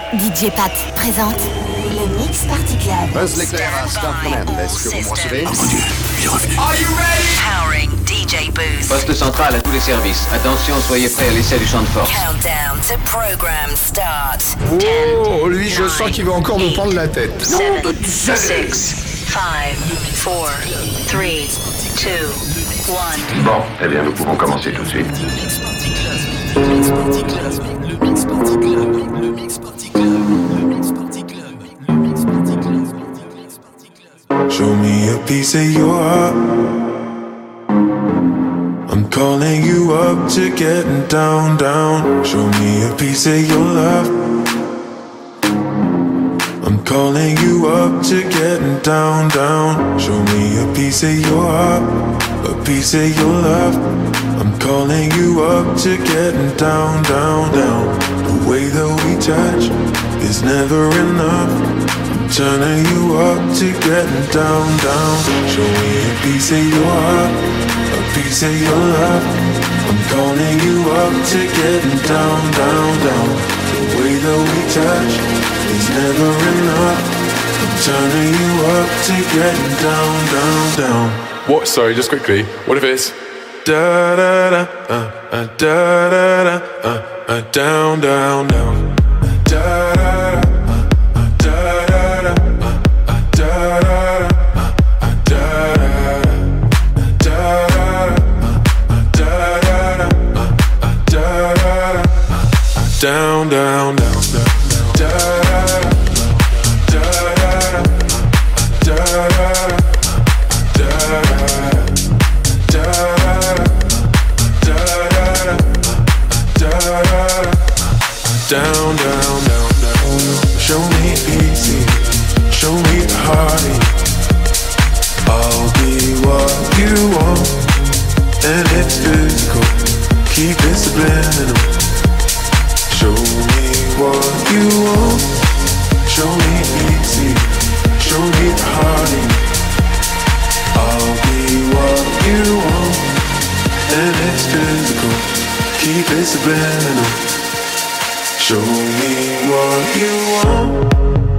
DJ Pat présente le Mix Party Club. Buzz l'éclair à Star Command, est-ce que vous me recevez? Oh mon Dieu, il est revenu. Are you ready? Powering DJ Booth. Poste central à tous les services. Attention, soyez prêts à l'essai du champ de force. Countdown to program start. Oh, lui, je sens qu'il va encore me prendre la tête. 7, 6, 5, 4, 3, 2, 1. Bon, eh bien, nous pouvons commencer tout de suite. Show me a piece of your heart. I'm calling you up to getting down, down. Show me a piece of your love. I'm calling you up to getting down, down. Show me a piece of your heart, a piece of your love. I'm calling you up to getting down, down, down. The way that we touch is never enough. Turning you up to getting down, down. Show me a piece of your heart, a piece of your love. I'm calling you up to getting down, down, down. The way that we touch is never enough. I'm turning you up to getting down, down, down. What? Sorry, just quickly. What if it's da da da da da da down, down, down. Da da da. Down, down, down, down, da da da da down, down, down. Show me easy, show me the heartache. I'll be what you want, and it's physical. Keep it subliminal. Show me what you want. Show me easy. Show me the heartache. I'll be what you want, and it's physical. Keep it subliminal. Show me what you want.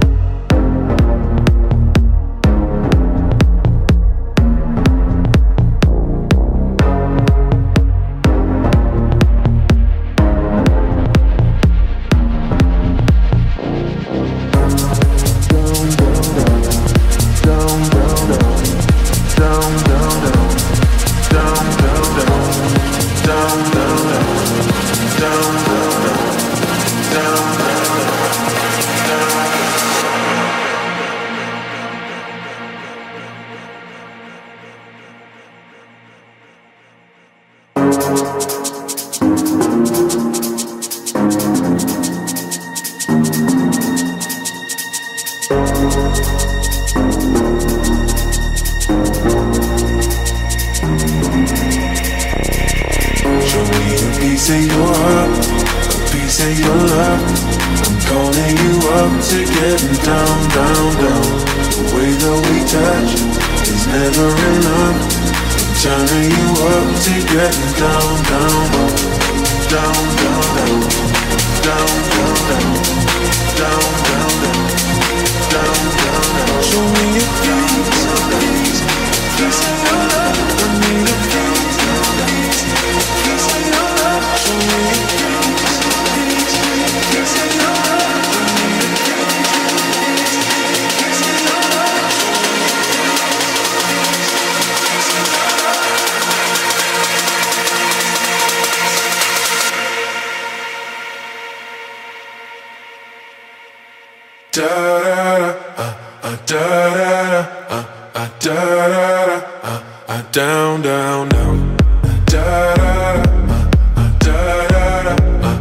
Down, down, down. Da da da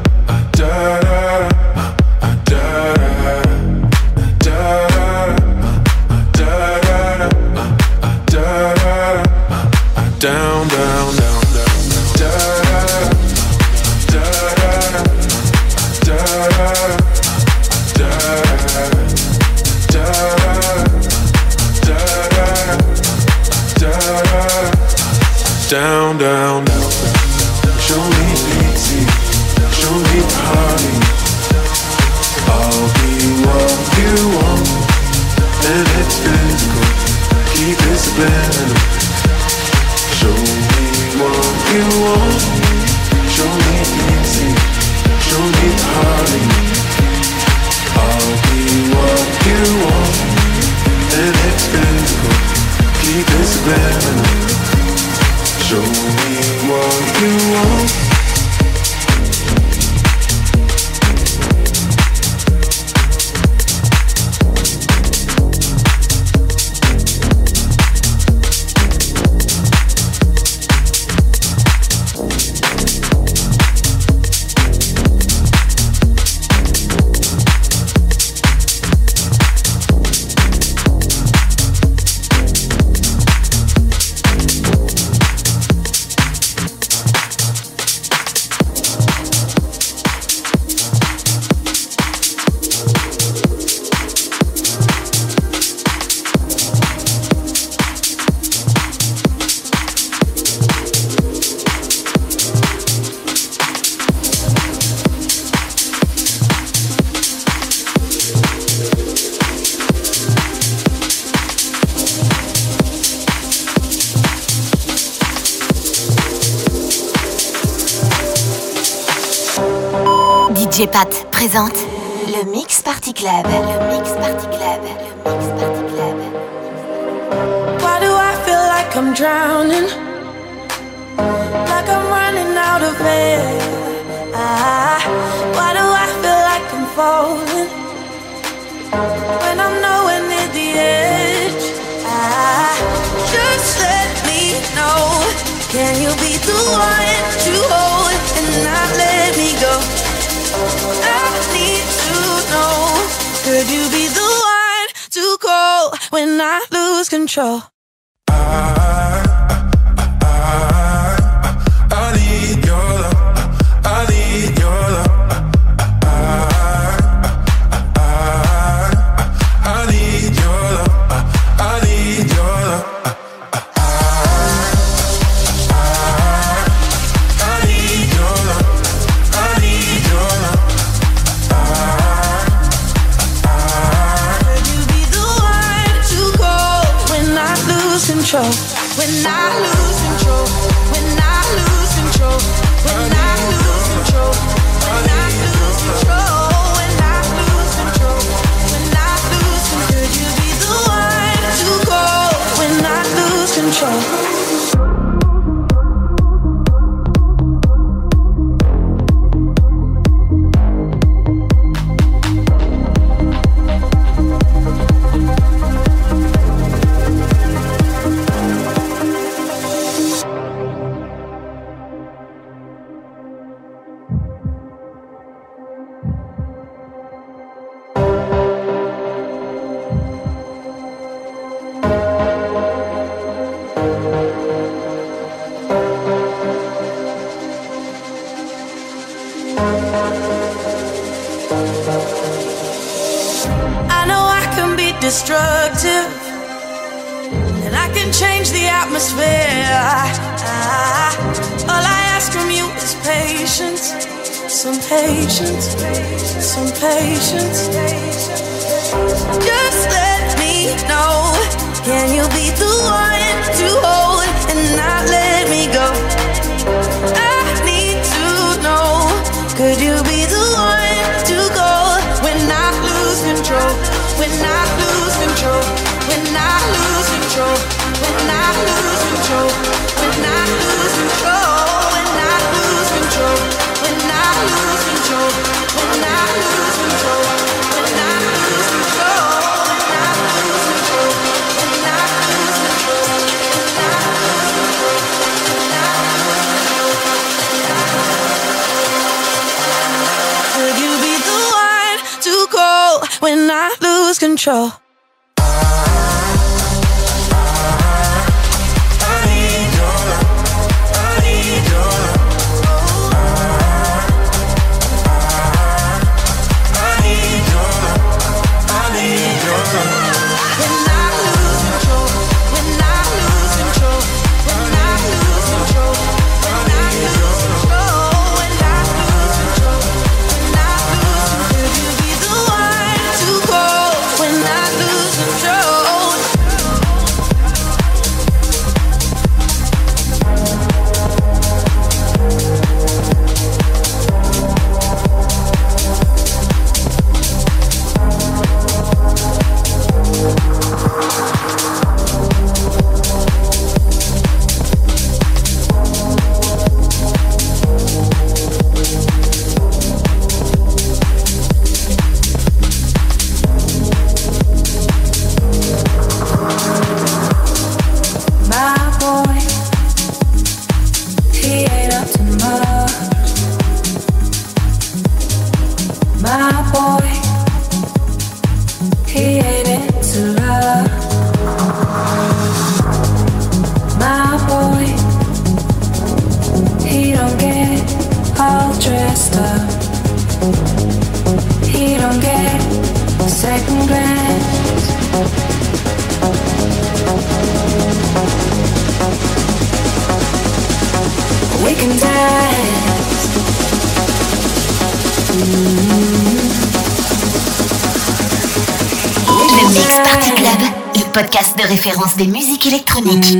down, down, down, down, down, down. Show me easy, show me party. I'll be DJ Pat présente le Mix Party Club. Le Mix Party Club. Le Mix Party Club. Why do I feel like I'm drowning? Like I'm running out of air. Why do I feel like I'm falling when I'm nowhere near the edge? Just let me know. Can you be the one to hold and not let me go? I need to know. Could you be the one to call when I lose control? I need your love. I need your love. I need your love. I need your love. Control. When I lose control, when I lose control, when I lose control, when I lose control, when I lose control, when I lose control, could you be the one to call when I lose control? Destructive, and I can change the atmosphere. All I ask from you is patience, some patience, some patience. Just let me know. Can you be the one to hold and not let me go? I need to know. Could you be the one to go when I lose control? When I lose control, when I lose control, when I lose control, when I lose control, when I lose control, when I lose control, when I lose control, when I lose control, when I lose control, when I lose control, when I lose control, when I lose control. Could you be the one to call when I lose control? Le Mix Party Club, le podcast de référence des musiques électroniques.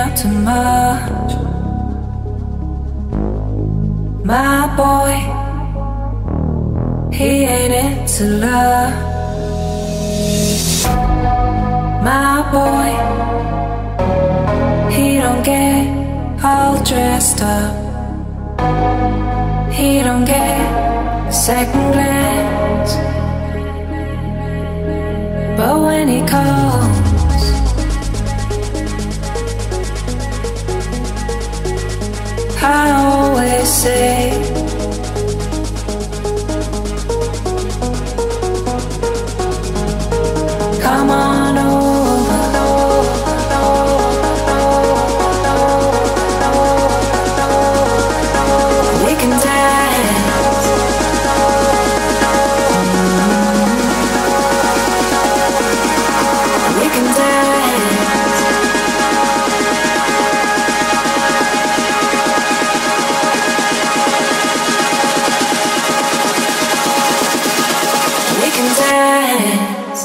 out too much. My boy, he ain't into love. My boy, he don't get all dressed up. He don't get a second glance. But when he calls, I always say, come on over. We can dance. We can dance. We can dance.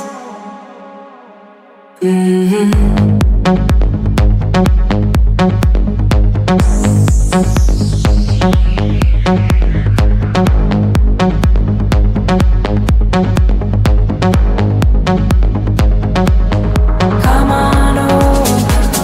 Come on over.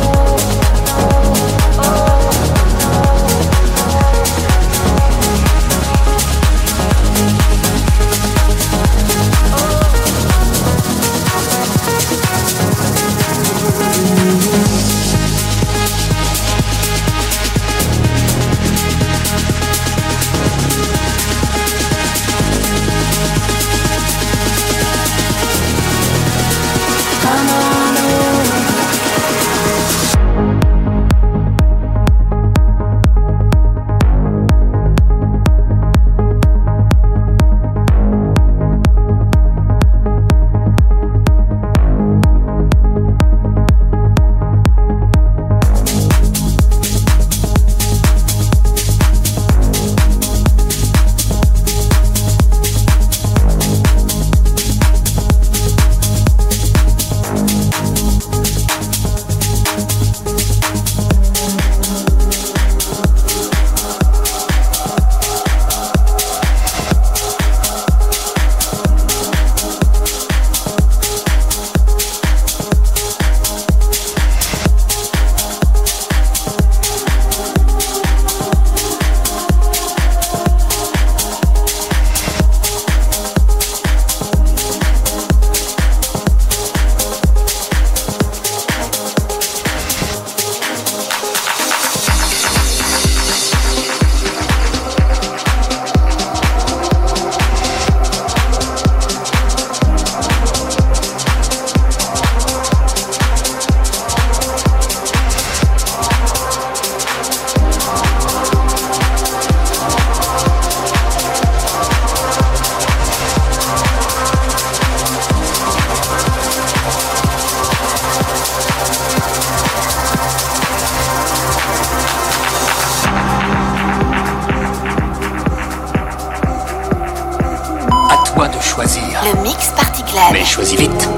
Come on over. À toi de choisir. Le Mix Party Club. Mais choisis vite.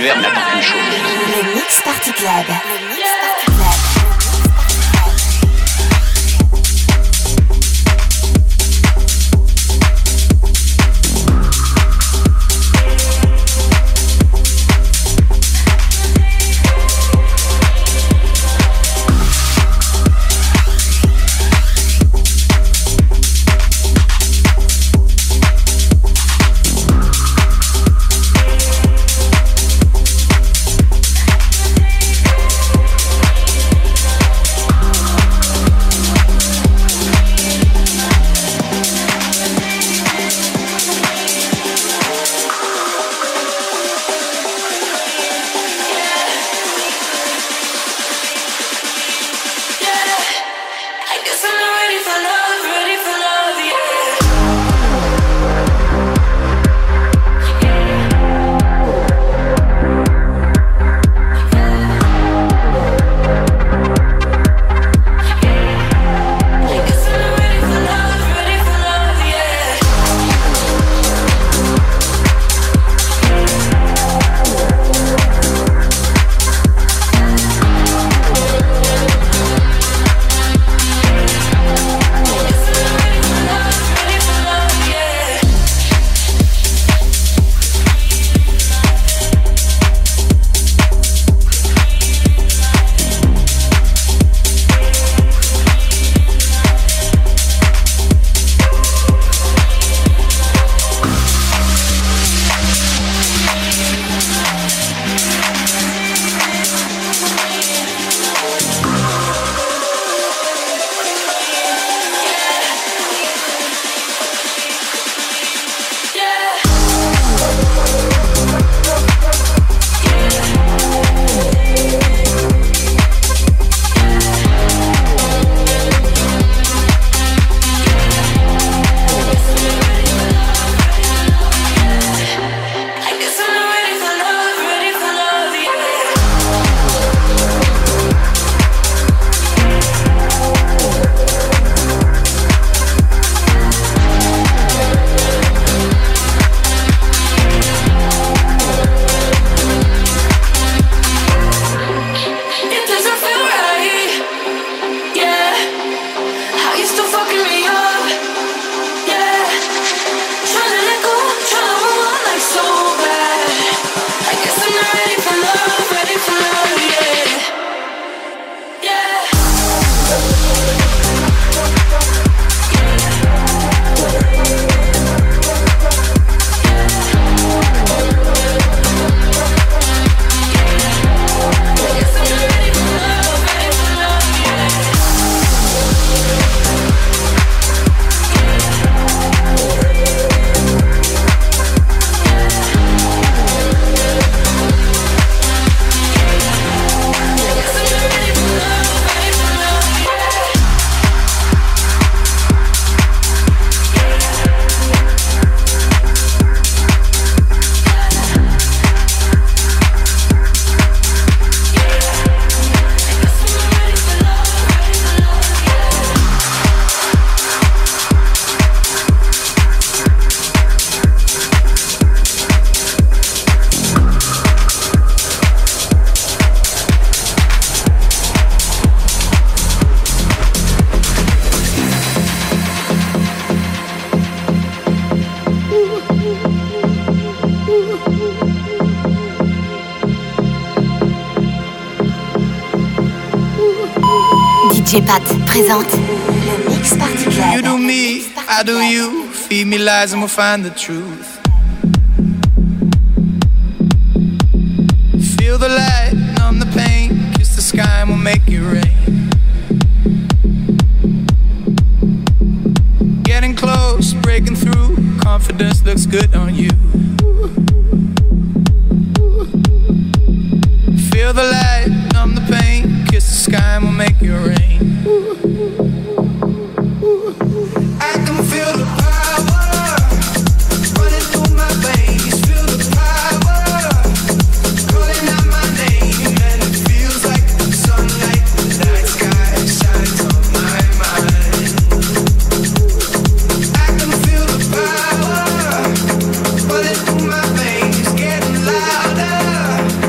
l'univers n'attend qu'une chose. Le Mix Party Club. Le Mix Party Club. DJ Pat présente le Mix Party Club. You do me, I do you. Feed me lies and we'll find the truth. Feel the light, numb the pain. Kiss the sky and we'll make it rain. Getting close, breaking through. Confidence looks good on you. Feel the light, numb the pain. Kiss the sky and we'll make it rain. I can feel the power running through my veins. Feel the power calling out my name, and it feels like sunlight. The night sky shines on my mind. I can feel the power running through my veins, getting louder.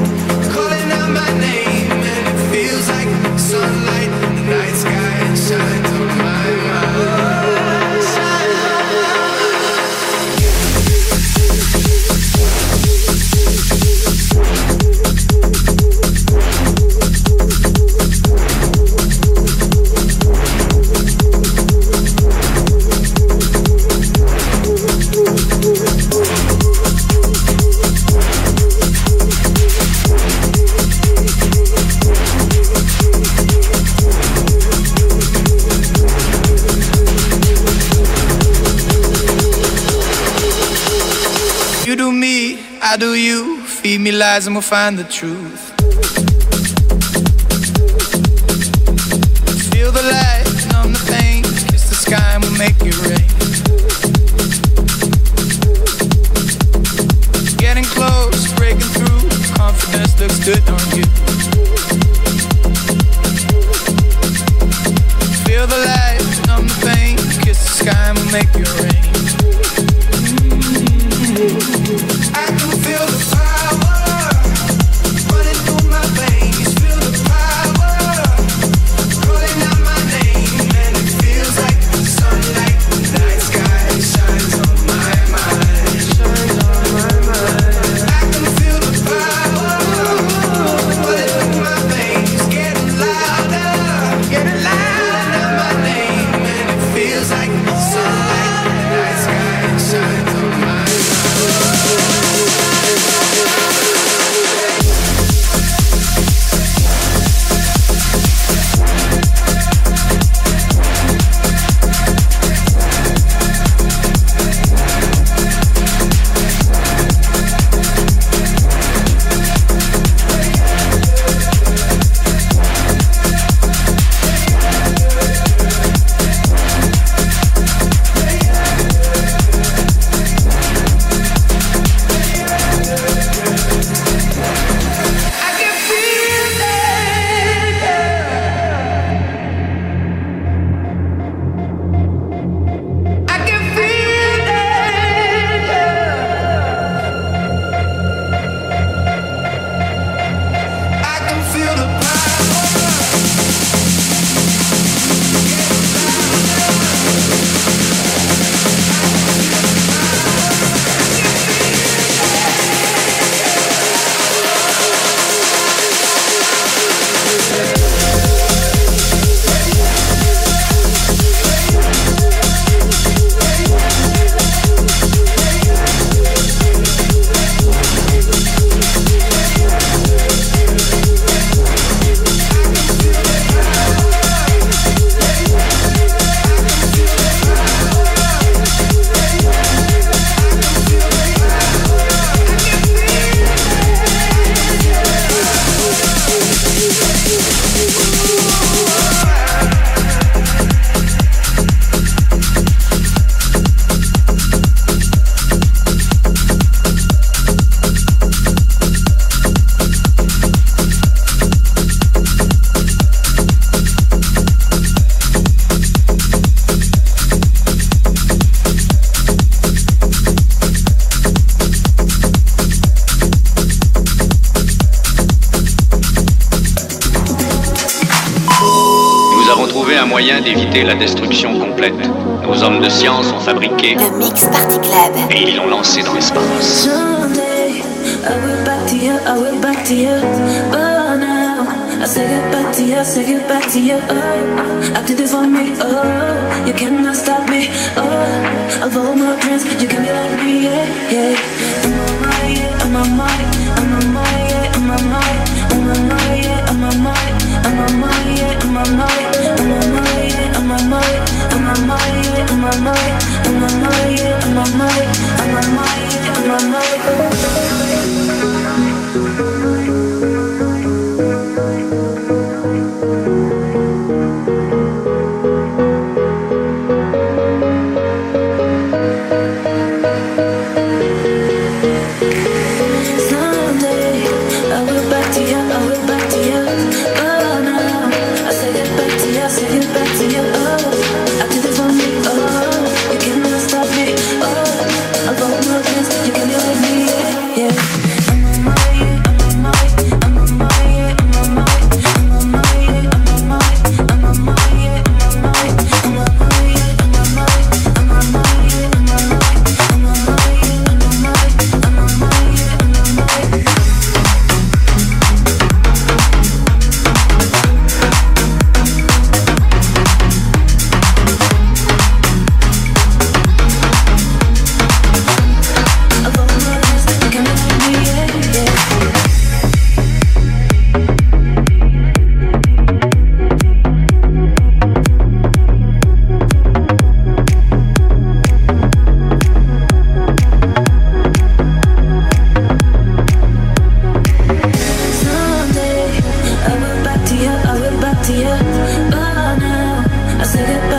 feed me lies and we'll find the truth. Feel the light, numb the pain, kiss the sky and we'll make it rain. Getting close, breaking through, confidence looks good on you. Feel the light, numb the pain, kiss the sky and we'll make it rain. I can feel the power running through my veins. Feel the power calling out my name, and it feels like the sunlight, the night sky shines on my mind. Shines on my mind. I can feel the power running through my veins, getting louder, my name, and it feels like the sunlight, the night sky shines on my mind. D'éviter la destruction complète. Nos hommes de science ont fabriqué le Mix Party Club et ils l'ont lancé dans l'espace. Someday I will back to you, I will back to you. But now I say get back to you, say get back to you. Oh, I did this for me. Oh, you cannot stop me. Oh, of all my dreams, you can be like me. Yeah, yeah. I'm on my, yeah, I'm on my, I'm on my, yeah, I'm on my, I'm on my, yeah, I'm on my, I'm on my, yeah, I'm on my, I'm on my, yeah, I'm on my, I'm on my, yeah, I'm on my, I'm on my, yeah, I'm on my, I'm on my, yeah, I'm on my. Someday I will back to you, I will back to you. But now I say get back to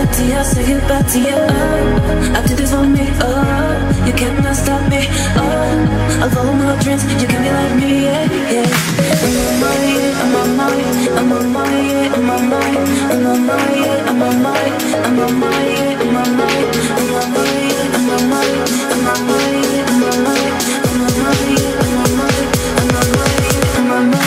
body, I'll say it back to you. Oh, I did this for me. Oh, you cannot stop me. Oh, I'll follow my dreams. You can be like me, yeah, yeah. I'm on my, I'm on my, I'm on my, I'm on my, I'm on my, I'm on my, I'm on my, I'm on my, I'm on my, I'm on my, I'm on my, I'm on my, I'm on my, I'm on my, I'm on my.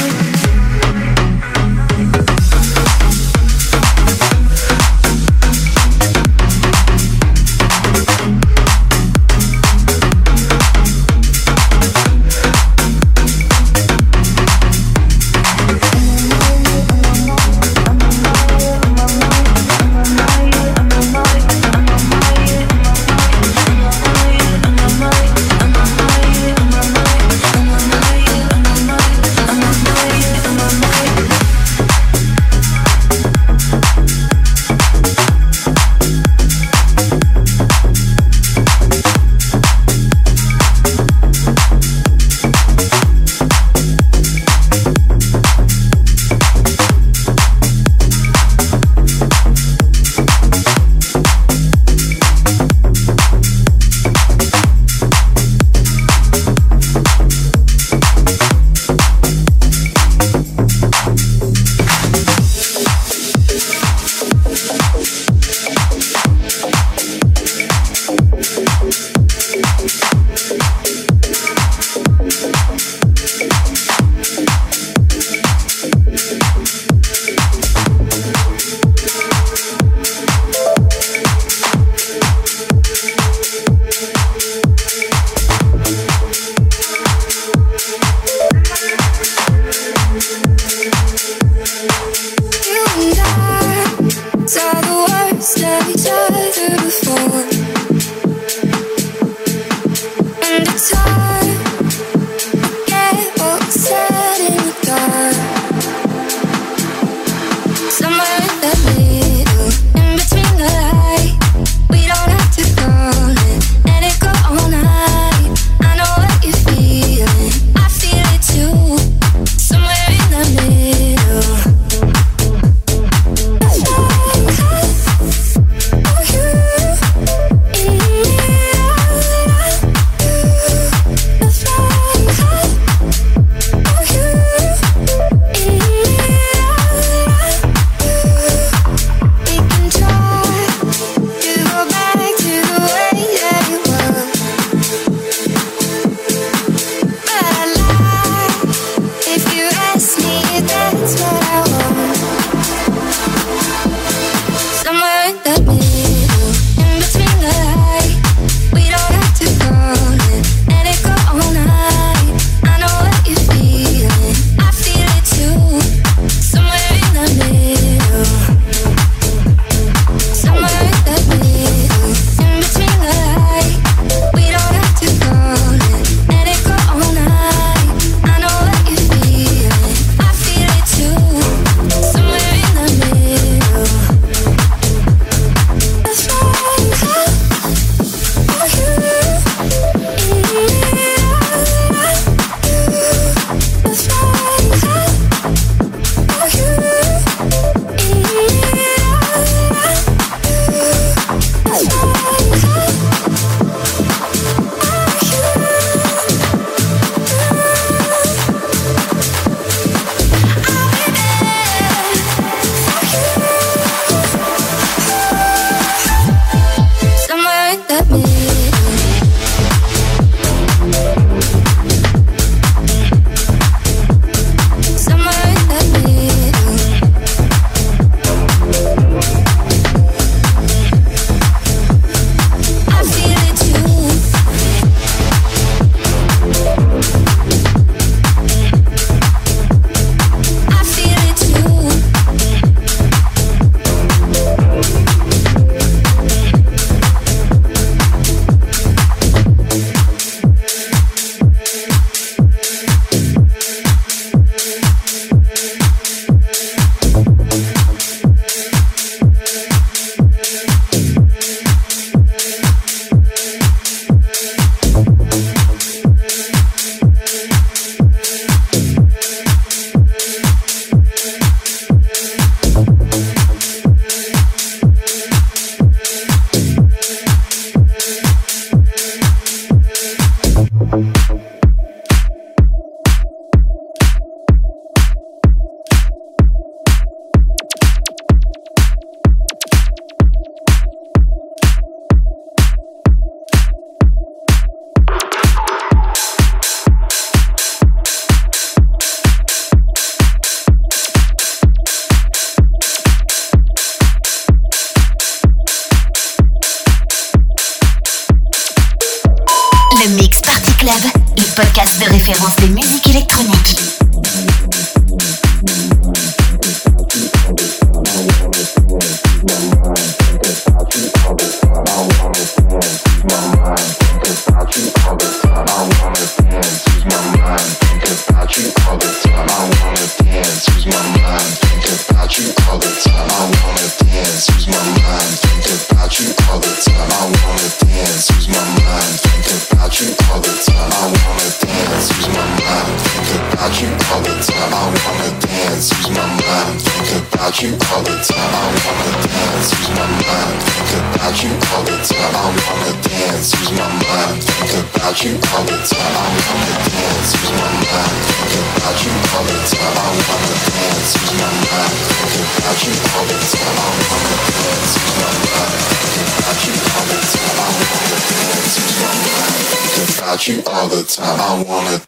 Oh, you référence des musiques électroniques. You all the time, I wanna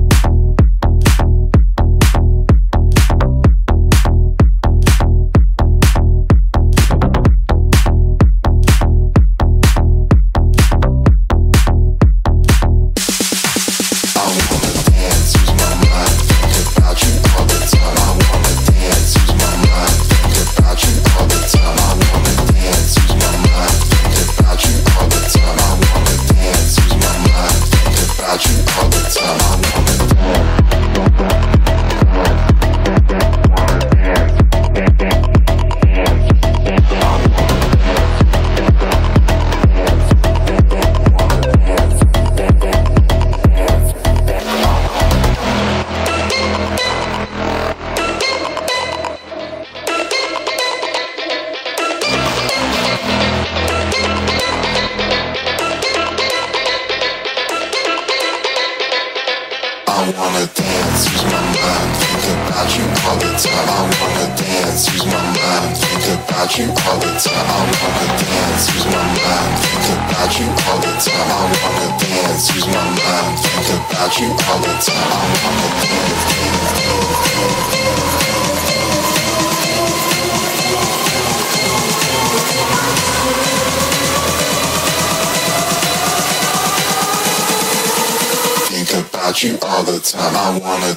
you all the time, I wanna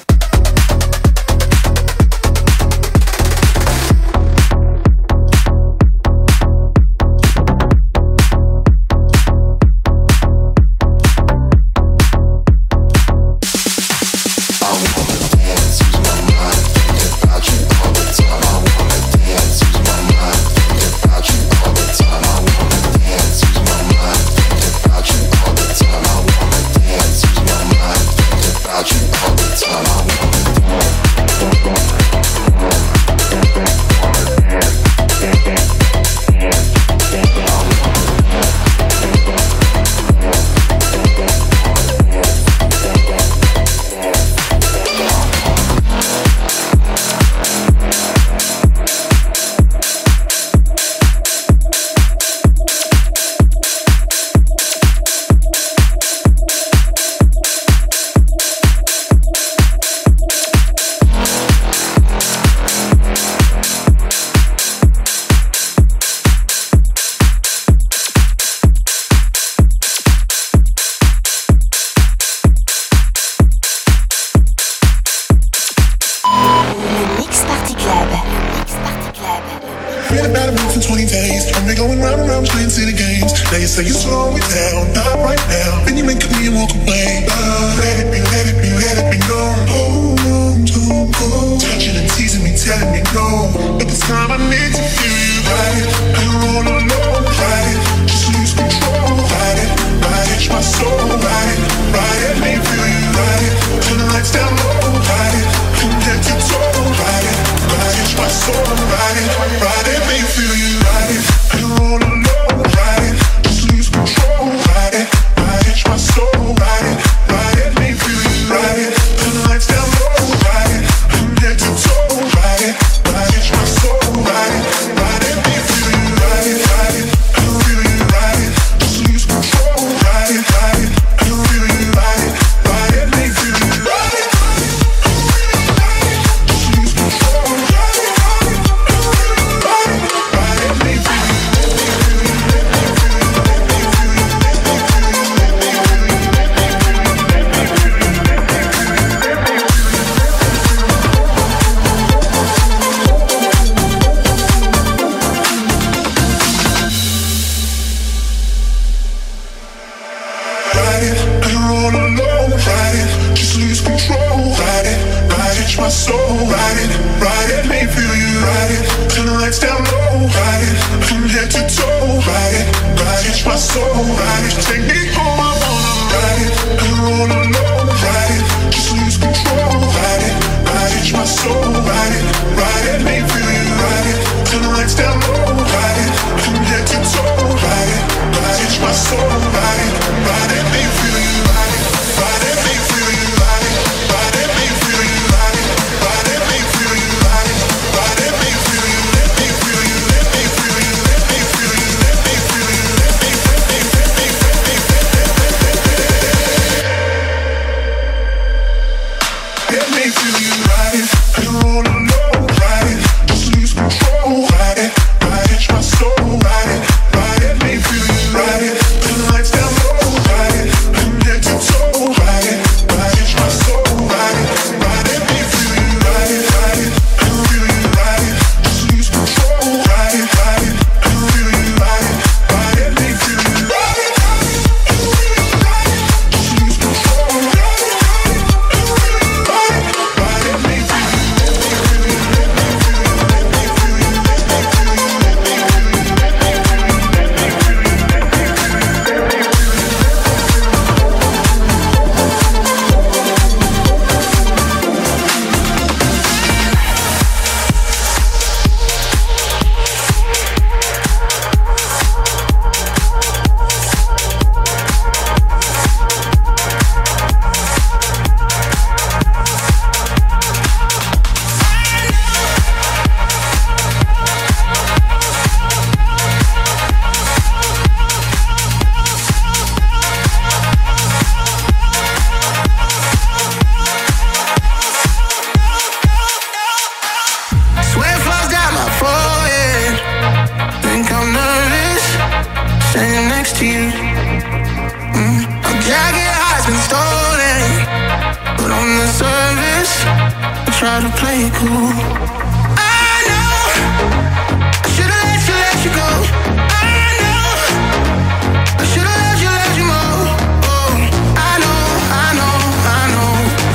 say you slow me down, not right now. Then you make me walk away. Let it be, let it be, let it be known. Hold on to go. Touching and teasing me, telling me no. But this time I need to feel you. Ride it, you're all alone. Ride it, just lose control. Ride it, my soul. Ride it, let me feel you. Ride it, turn the lights down low. Ride it, from head to toe. Ride it, my soul. Ride it, let me feel you. Ride it, you're all alone. Ride it. Control, ride it, my soul, ride it, let me feel you, ride it, turn the lights down low, ride it, from head to toe, ride it, my soul, ride it, let me feel you, ride it, soul. Ride it, let me feel you. Ride it, turn the lights down low. Ride it, from head to toe. Ride it, touch my soul. Ride it, take me home, I wanna ride it. I'm rolling low. Ride it, just lose control. Ride it, touch my soul. Ride it, let me feel you. Ride it, turn the lights down low. Ride it, from head to toe. Ride it, touch my soul. Ride it, let me feel you. Ride it, let me feel you. Ride it, let me feel you. Ride it, let me feel you. Ride it, let me feel you. Let me feel you. Let me feel you. Let me feel you. Let me feel you. Let me feel you. Ride it, and roll low. Ride it, just lose control. Ride it, touch my soul. Ride it, let me feel you. Ride it, turn the lights down low. Ride it, from head to toe. Ride it, touch my soul. Ride it, let me feel you. Ride it, and feel you. Ride it, just lose control. Ride it, and feel you. Ride it, let me feel you. Ride it, and feel you. Ride it, just lose control. Ride it, and feel you. Ride it, let me feel you. Let me feel you. Let me feel you. Let me feel you. Let me feel you. Let me feel you. Sweat flows down my forehead. Think I'm nervous, standing next to you. My jacket has been stolen, but on the surface, I try to play it cool. I know I should've let you go. I know I should've let you go. Oh, I know. I know. I know.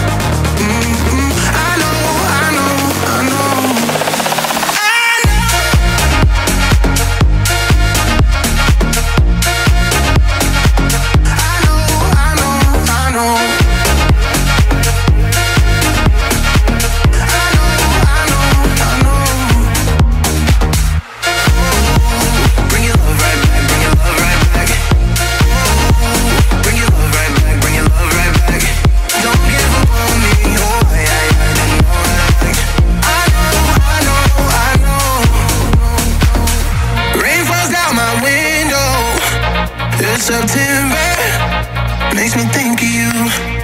September makes me think of you.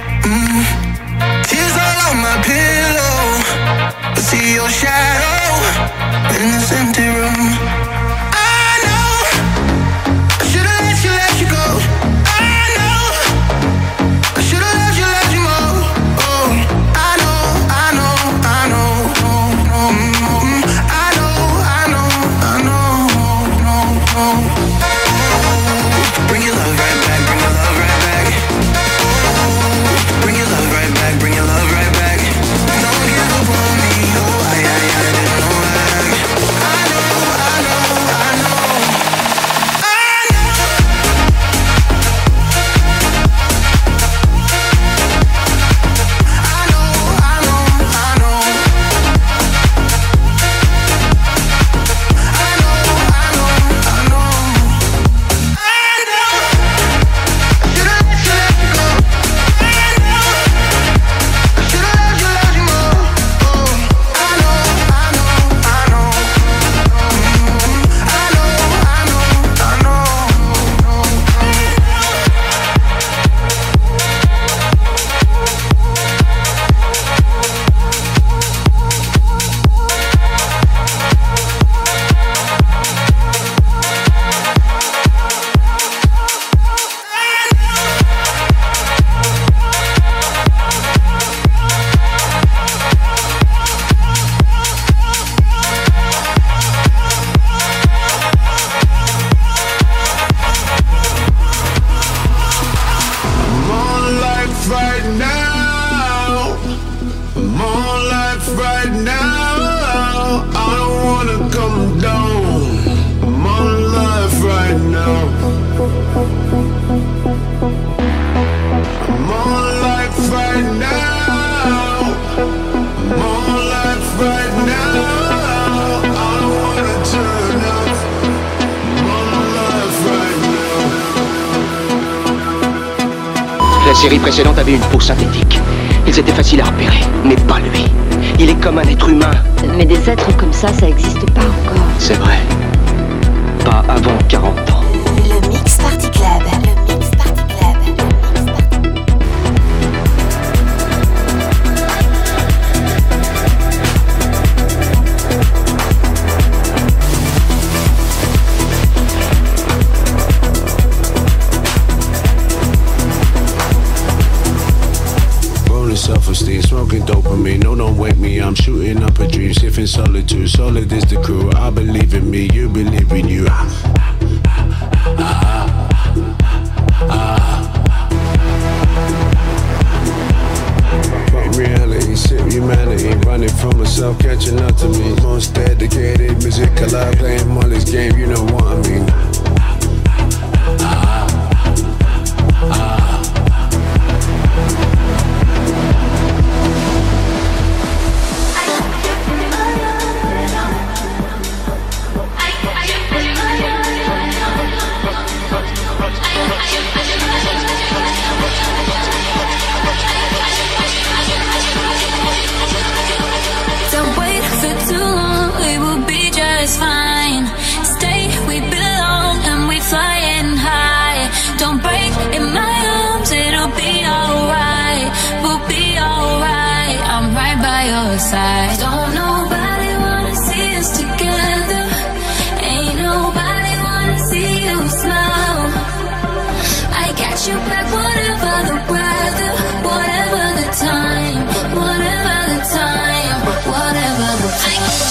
Tears all on my pillow. I see your shadow in this empty room. I know I should've let you go. I know I should've let you go. Oh, I know. I know. I know. I know. Bring your love right back, bring your love right back. Bring your love right back, bring your love right back. Don't give up on me, oh, I didn't know that. I know. série précédente avait une peau synthétique. Ils étaient faciles à repérer, mais pas lui. Il est comme un être humain. Mais des êtres comme ça existe pas encore. C'est vrai. Pas avant 40 ans. Le Mix Party Club. Le Mix Party Club. Self-esteem, smoking dopamine. No, don't wake me. I'm shooting up a dream, safe in solitude. Solid is the crew. I believe in me, you believe in you. Fuck reality, sip humanity. Running from myself, catching up to me. Most dedicated, music alive, playing Molly's game. You know what I mean. Side. Don't nobody wanna see us together. Ain't nobody wanna see you smile. I got your back, whatever the weather, whatever the time, whatever the time, whatever the time.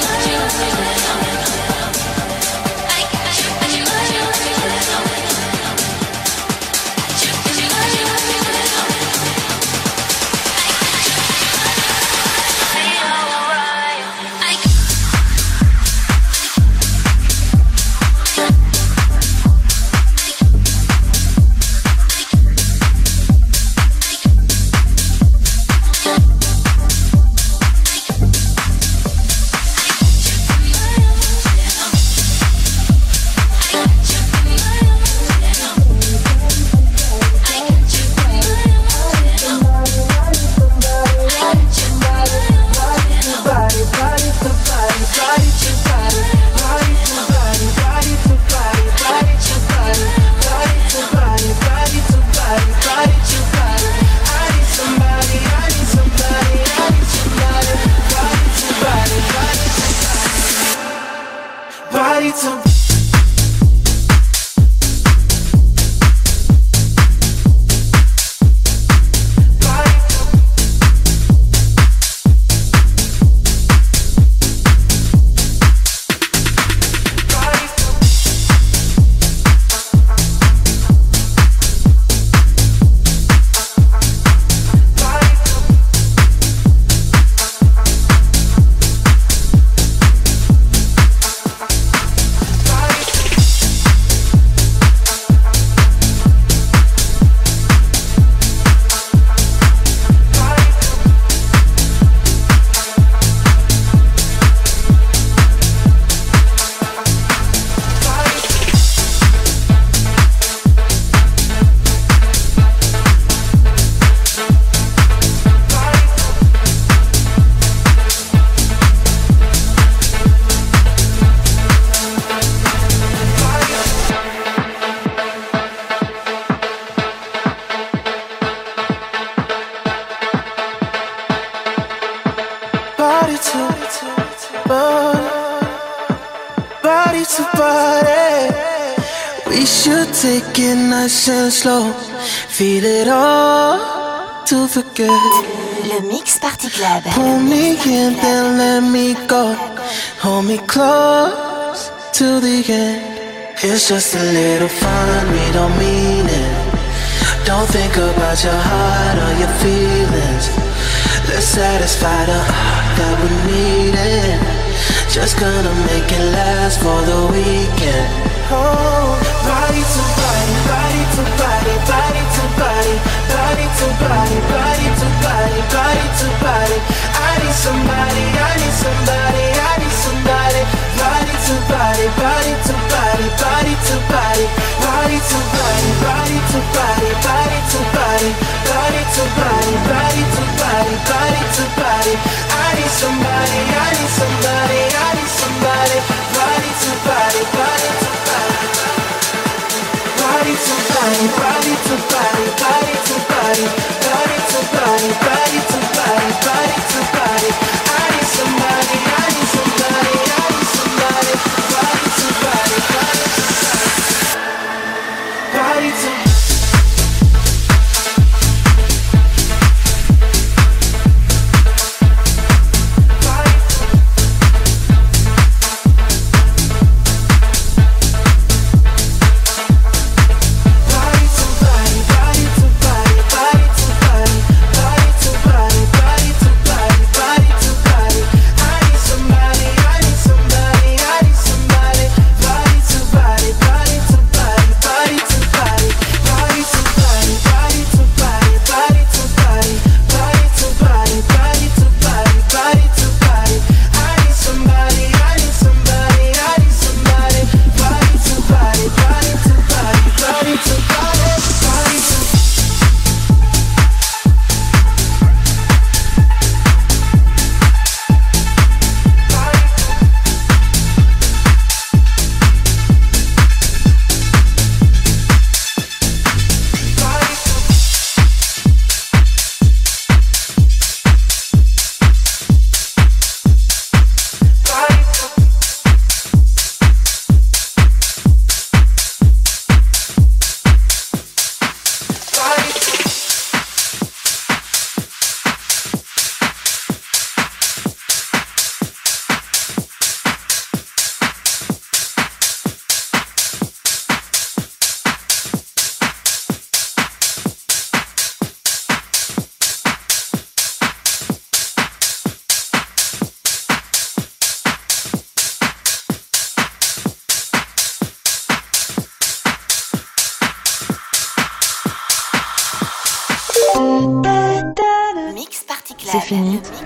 Take it nice and slow, feel it all to forget. Le Mix Party Club. Pull me in, then let me go. Hold me close to the end. It's just a little fun, we don't mean it. Don't think about your heart or your feelings. Let's satisfy the heart that we needed. Just gonna make it last for the weekend. Oh, body to body, body to body, body to body, body to body, body to body, body to body. I need somebody, I need somebody, I need somebody. Body to body, body to body, body to body, body to body, body to body, body to body. body, body to body, body to body, body to body. I need somebody, I need somebody, I need somebody. Body to body, body to body. Body to body, body to body, body to body, body to body, body to body, body to body. I need somebody, I need somebody, I need somebody. Body to body, body to body, body to. C'est fini,